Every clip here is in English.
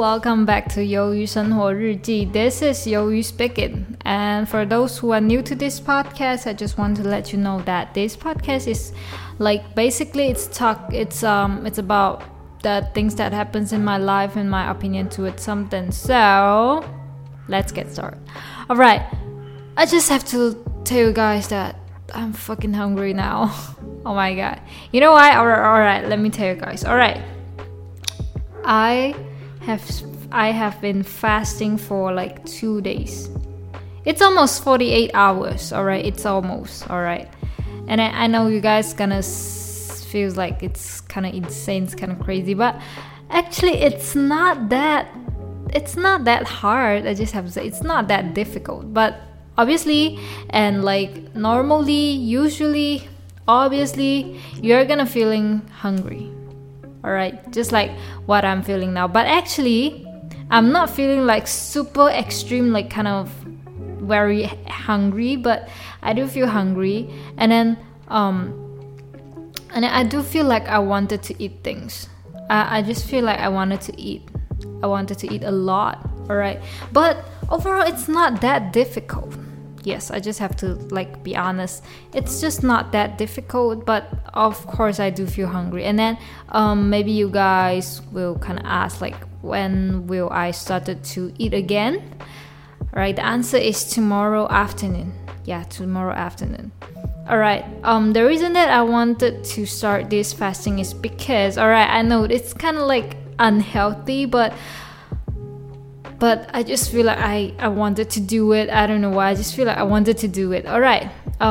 welcome back to 鱿鱼生活日记. This is 鱿鱼 speaking. And for those who are new to this podcast, I just want to let you know that this podcast is like basically it's about the things that happens in my life and my opinion to it something. So let's get started. Alright, I just have to tell you guys that I'm fucking hungry now. Oh my god. You know why? Alright, let me tell you guys. Alright. I have been fasting for like 2 days. It's almost 48 hours, alright? It's almost, alright? And I know you guys gonna feel like it's kind of insane, it's kind of crazy, but actually it's not that hard. I just have to say it's not that difficult. But obviously, and like normally, usually, obviously, you're gonna feeling hungry. Alright, just like what I'm feeling now. But actually, I'm not feeling like super extreme, like kind of very hungry, but I do feel hungry. And then I do feel like I wanted to eat things. I just feel like I wanted to eat a lot, alright? But overall, it's not that difficult. Yes, I just have to like be honest. It's just not that difficult, but of course I do feel hungry. And then maybe you guys will kind of ask like, when will I started to eat again? Right, the answer is tomorrow afternoon. Yeah, tomorrow afternoon. Alright, the reason that I wanted to start this fasting is because, alright, I know it's kind of like unhealthy, but I just feel like I wanted to do it. I don't know why. I just feel like I wanted to do it. Alright.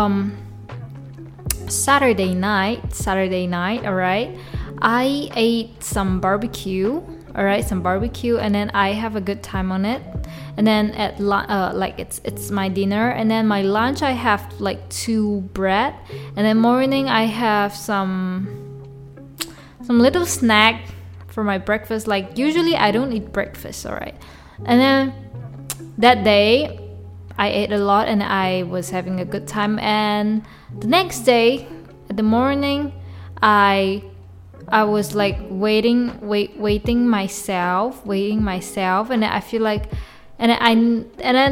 Saturday night, alright. I ate some barbecue. Alright, some barbecue, and then I have a good time on it. And then at like it's my dinner, and then my lunch I have like 2 bread, and then morning I have some little snack for my breakfast. Like usually I don't eat breakfast, alright. And then that day I ate a lot and I was having a good time. And the next day at the morning I was like waiting myself, and I feel like I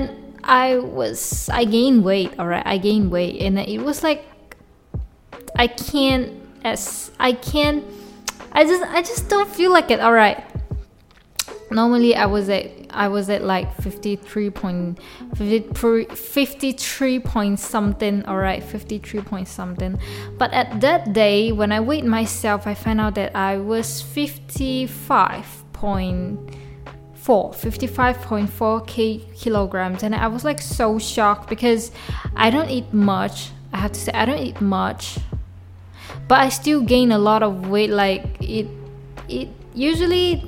gained weight, alright. I gained weight, and it was like I just don't feel like it, alright. Normally I was at like 53 point something, alright, 53 point something. But at that day, when I weighed myself, I found out that I was 55.4 kilograms, and I was like so shocked because I don't eat much. I have to say I don't eat much, but I still gain a lot of weight. Like it usually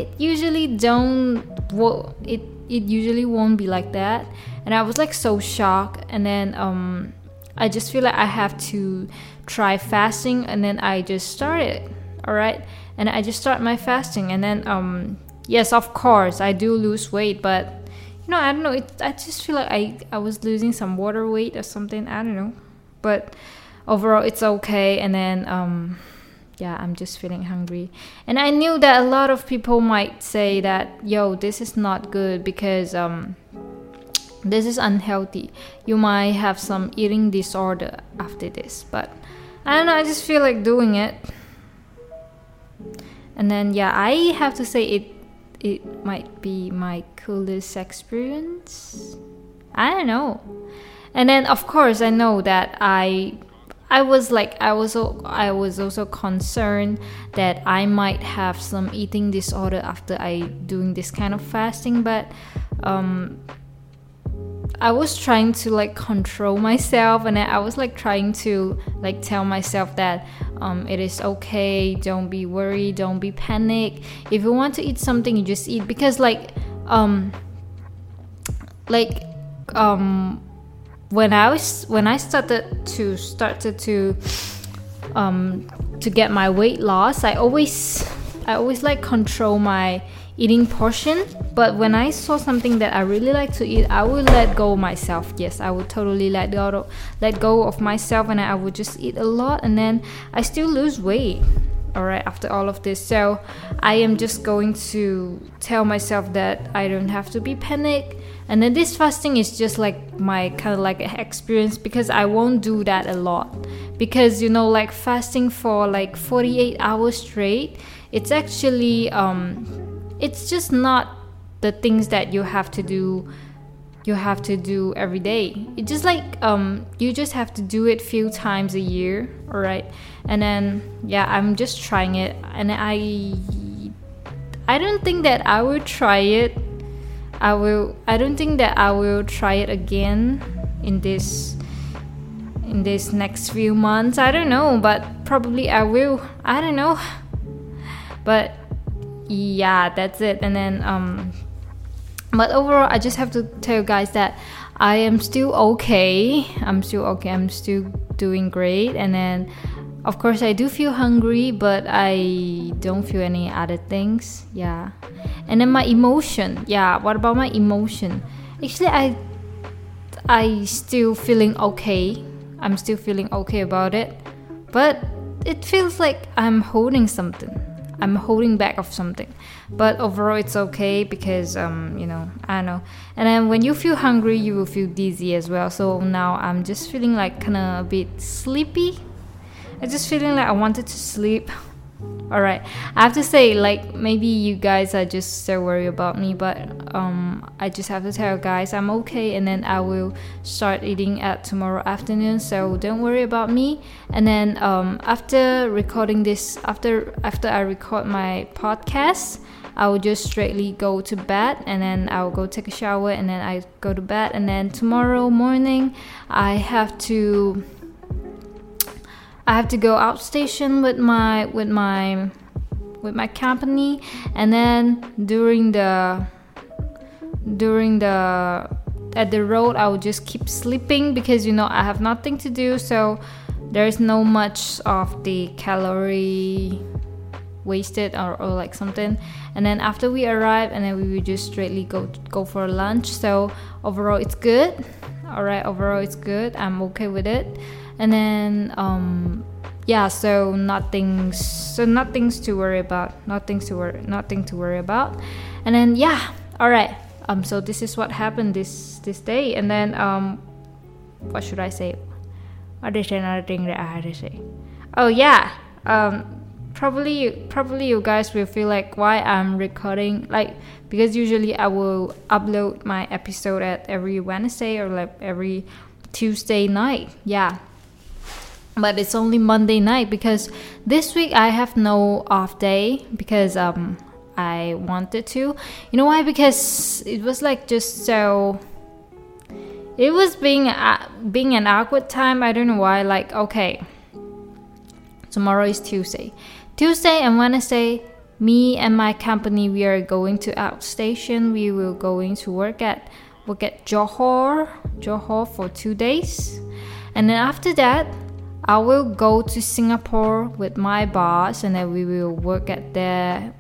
won't be like that. And I was like so shocked. And then I just feel like I have to try fasting, and then I just started, alright. And I just start my fasting, and then yes, of course I do lose weight, but you know, I don't know, I just feel like I was losing some water weight or something, I don't know, but overall it's okay. And then yeah, I'm just feeling hungry. And I knew that a lot of people might say that, yo, this is not good because this is unhealthy. You might have some eating disorder after this. But I don't know, I just feel like doing it. And then yeah, I have to say it might be my coolest experience. I don't know. And then of course I know that I was also concerned that I might have some eating disorder after I doing this kind of fasting, but I was trying to like control myself, and I was like trying to like tell myself that it is okay, don't be worried, don't be panic. If you want to eat something, you just eat, because when I started to get my weight loss, I always like control my eating portion. But when I saw something that I really like to eat, I would let go of myself. Yes, I would totally let go of myself, and I would just eat a lot, and then I still lose weight. all right, after all of this. So I am just going to tell myself that I don't have to be panicked. And then this fasting is just like my kind of like experience, because I won't do that a lot, because like fasting for like 48 hours straight, it's actually it's just not the things that you have to do every day. It's just like you just have to do it few times a year, all right? And then I'm just trying it, and I don't think that I will try it. I don't think that I will try it again in this next few months. I don't know, but probably I will. I don't know. But that's it. And then but overall, I just have to tell you guys that I am still okay. I'm still doing great. And then, of course, I do feel hungry, but I don't feel any other things. Yeah. And then my emotion. Yeah, what about my emotion? Actually, I still feeling okay. I'm still feeling okay about it. But it feels like I'm holding something. I'm holding back of something, but overall it's okay, because I don't know. And then when you feel hungry, you will feel dizzy as well. So now I'm just feeling like kind of a bit sleepy. I'm just feeling like I wanted to sleep. All right, I have to say, like, maybe you guys are just so worried about me, but I just have to tell you guys I'm okay, and then I will start eating at tomorrow afternoon, so don't worry about me. And then after recording this, after I record my podcast, I will just straightly go to bed, and then I'll go take a shower, and then I go to bed. And then tomorrow morning I have to go outstation with my company. And then during the at the road, I will just keep sleeping, because I have nothing to do, so there's no much of the calorie wasted or like something. And then after we arrive, and then we will just straightly go for lunch. So overall it's good. All right, overall it's good. I'm okay with it. And then so nothing's to worry about. Nothing to worry about. And then all right. So this is what happened this day. And then what should I say? What is another thing that I had to say? Oh yeah. Probably you guys will feel like why I'm recording, like, because usually I will upload my episode at every Wednesday or like every Tuesday night. Yeah. But it's only Monday night, because this week I have no off day, because I wanted to. You know why? Because it was like just so. It was being an awkward time. I don't know why. Like, okay, tomorrow is Tuesday and Wednesday. Me and my company, we are going to outstation. We will going to work at Johor for 2 days, and then after that, I will go to Singapore with my boss, and then we will work at there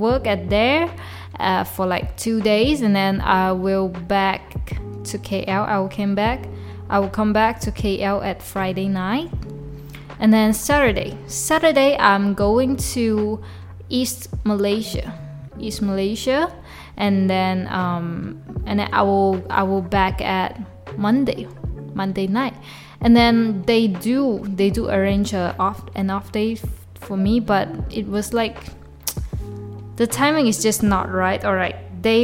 for like 2 days, and then I will back to KL. I will come back to KL at Friday night, and then Saturday I'm going to East Malaysia, and then I will back at Monday night. And then they do arrange an off day for me, but it was like the timing is just not right. All right, they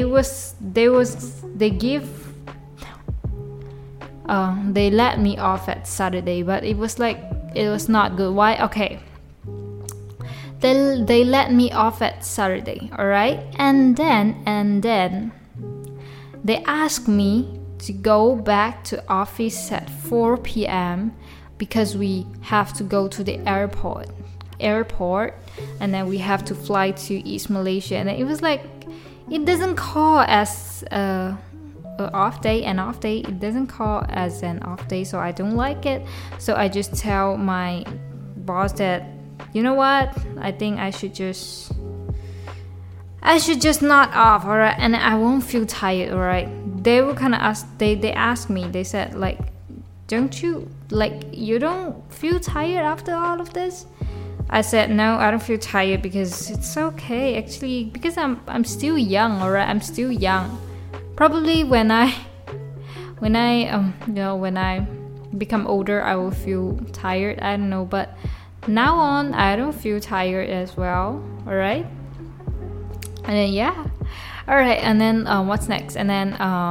let me off at Saturday, but it was not good. Why? Okay, they let me off at Saturday, all right, and then they asked me to go back to office at 4 p.m. because we have to go to the airport, and then we have to fly to East Malaysia. And it was like, it doesn't call as an off day. It doesn't call as an off day, so I don't like it. So I just tell my boss that, you know what, I think I should just not off, alright, and I won't feel tired, alright. They were kind of they asked me, they said, like, don't you, like, you don't feel tired after all of this? I said no, I don't feel tired because it's okay actually, because I'm still young, alright? I'm still young. Probably when I become older, I will feel tired. I don't know, but now on, I don't feel tired as well. Alright? And then yeah. Alright, and then what's next? And then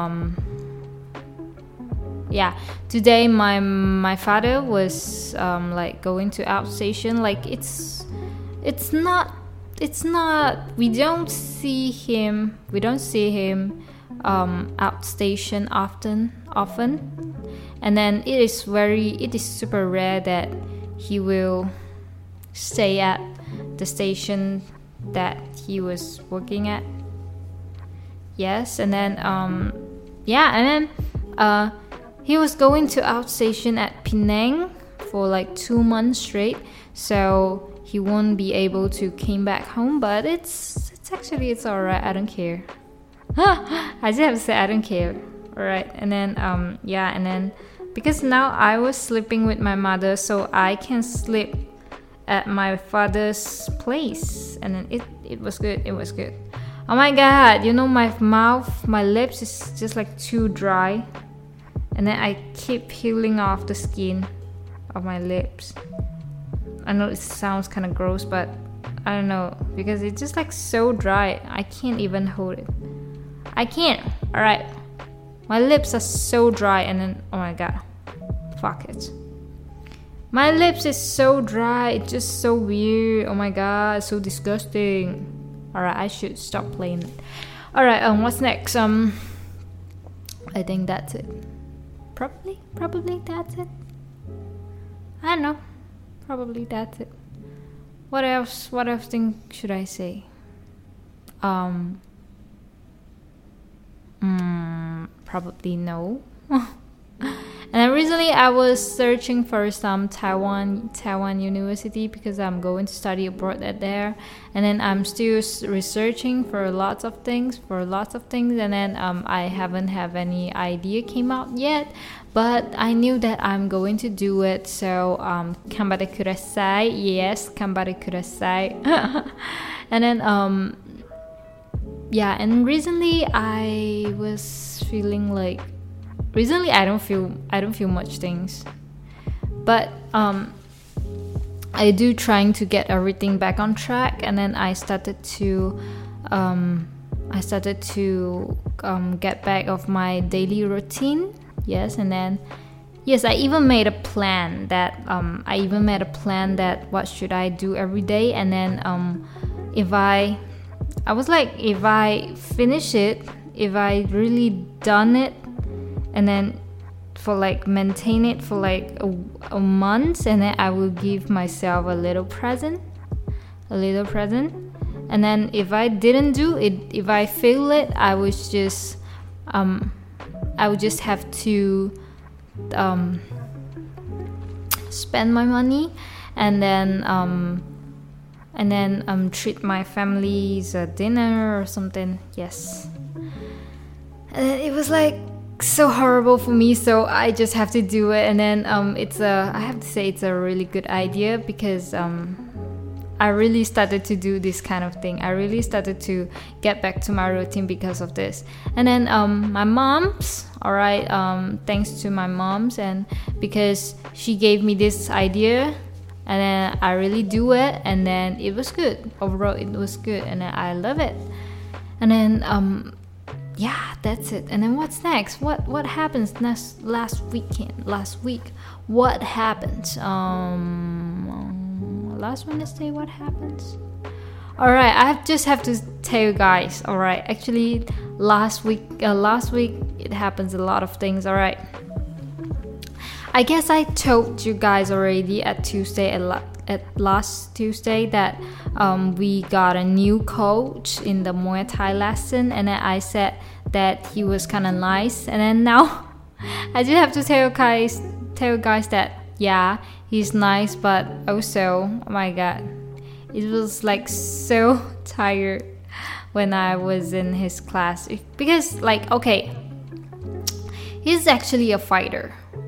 yeah, today my father was like going to outstation. Like it's not we don't see him outstation often, and then it is super rare that he will stay at the station that he was working at. Yes, and then he was going to outstation at Penang for like 2 months straight, so he won't be able to came back home. But it's alright. I don't care. I just have to say I don't care. Alright, and then and then because now I was sleeping with my mother, so I can sleep at my father's place, and then it was good. It was good. Oh my god, you know, my mouth, my lips is just like too dry, and then I keep peeling off the skin of my lips. I know it sounds kind of gross, but I don't know, because it's just like so dry. I can't even hold it. I can't. Alright, my lips are so dry, and then oh my god, fuck it. My lips is so dry. It's just so weird. Oh my god, so disgusting. Alright, I should stop playing it. Alright, what's next? I think that's it. Probably that's it. I don't know. Probably that's it. What else thing should I say? Probably no. And then recently I was searching for some Taiwan university, because I'm going to study abroad at there, and then I'm still researching for lots of things, and then I haven't have any idea came out yet, but I knew that I'm going to do it. So kanbare kudasai. Yes, kanbare kudasai. And then and recently I was feeling like, recently I don't feel much things, but I do trying to get everything back on track. And then I started to get back of my daily routine. Yes, and then I even made a plan that what should I do every day. And then if I finish it, if I really done it, and then for like maintain it for like a month, and then I will give myself a little present. And then if I didn't do it, if I fail it, I would just have to spend my money, and then treat my family's dinner or something. Yes, and it was like so horrible for me, so I just have to do it. And then I have to say it's a really good idea, because I really started to do this kind of thing. I really started to get back to my routine because of this. And then my mom's, alright, thanks to my mom's, and because she gave me this idea, and then I really do it, and then it was good. Overall it was good, and then I love it. And then that's it. And then what's next? What happens last week? What happened? Last Wednesday, what happens? Alright, I just have to tell you guys. Alright, actually last week it happens a lot of things. Alright, I guess I told you guys already at last Tuesday that we got a new coach in the Muay Thai lesson, and then I said that he was kind of nice. And then now I just have to tell you guys that he's nice, but also, oh my god, it was like so tired when I was in his class, because like, okay, he's actually a fighter.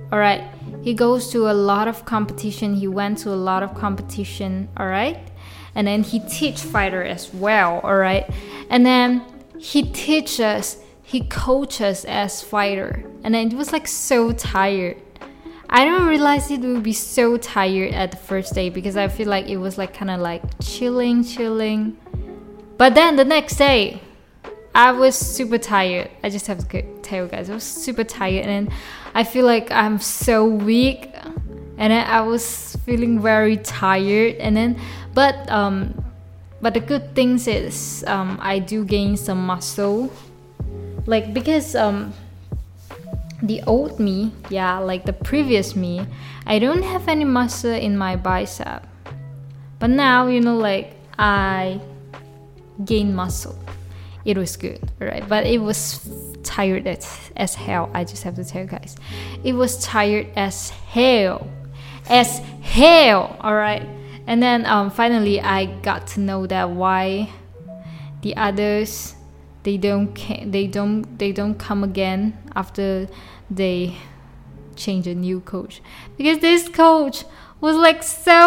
all right? He goes to a lot of competition. He went to a lot of competition, all right? And then he teach fighter as well, all right? And then he coaches as fighter. And then it was like so tired. I didn't realize it would be so tired at the first day because I feel like it was like kind of like chilling. But then the next day, I was super tired. I just have to tell you guys, I was super tired, and I feel like I'm so weak, and then I was feeling very tired. And then, but the good things is I do gain some muscle, like because the old me, like the previous me, I don't have any muscle in my bicep, but now like I gain muscle. It was good, alright, but it was tired as hell. I just have to tell you guys, it was tired as hell, alright. And then finally I got to know that why the others they don't come again after they change a new coach, because this coach was like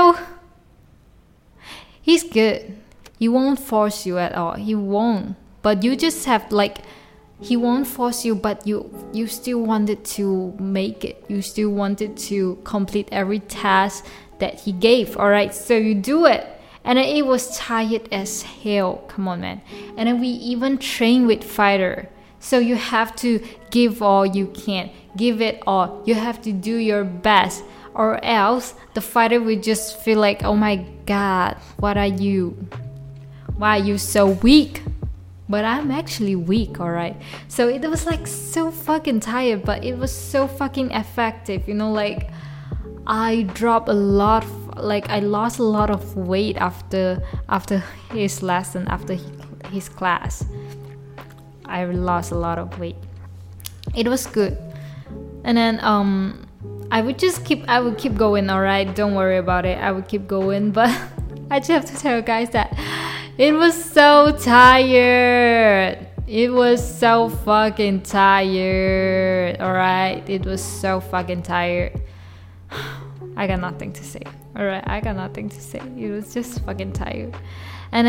he's good. He won't force you at all. He won't. But you just have he won't force you, but you still wanted to make it. You still wanted to complete every task that he gave, alright? So you do it. And then it was tired as hell. Come on, man. And then we even train with fighter. So you have to give all you can. Give it all. You have to do your best. Or else the fighter will just feel like, oh my God, what are you? Why are you so weak? But I'm actually weak, alright? So it was like so fucking tired, but it was so fucking effective. Like I dropped a lot, I lost a lot of weight after his lesson, after his class. I lost a lot of weight. It was good. And then I would keep going, alright? Don't worry about it. I would keep going, but I just have to tell you guys that it was so tired. It was so fucking tired, alright? It was so fucking tired. I got nothing to say, alright? I got nothing to say. It was just fucking tired. And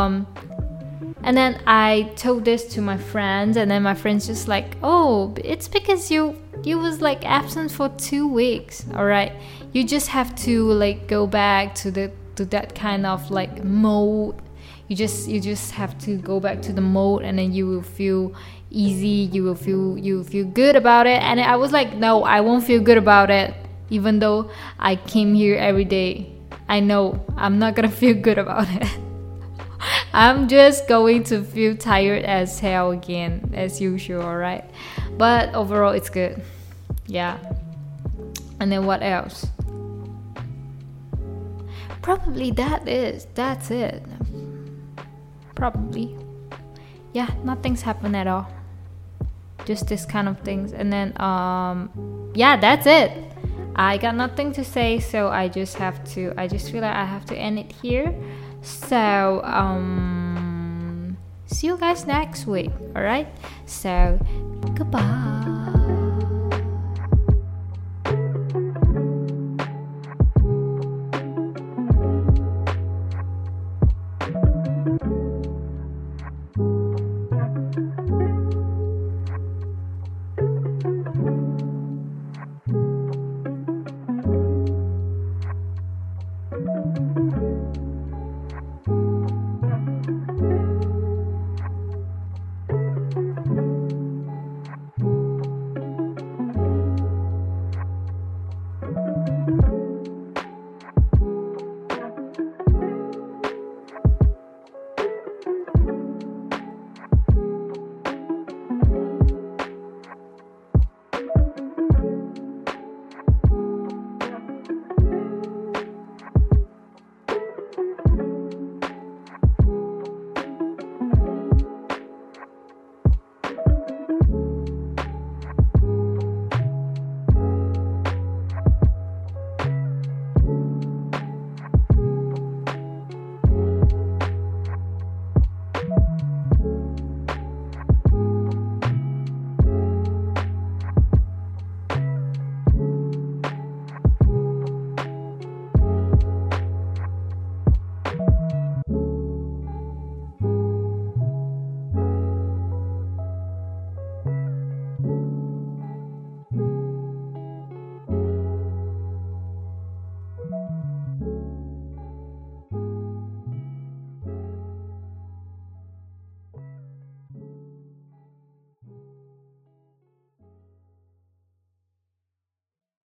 then I told this to my friends, and then my friends just like, oh, it's because you was like absent for 2 weeks, alright? You just have to go back to that kind of mode. You just have to go back to the mode, and then you will feel easy. You will feel good about it. And I was like, no, I won't feel good about it, even though I came here every day. I know I'm not gonna feel good about it. I'm just going to feel tired as hell again, as usual, alright? But overall, it's good. Yeah. And then what else? Probably that's it. Probably. Yeah, nothing's happened at all. Just this kind of things. And then, yeah, that's it. I got nothing to say, so I just feel like I have to end it here. So, see you guys next week, alright? So, goodbye.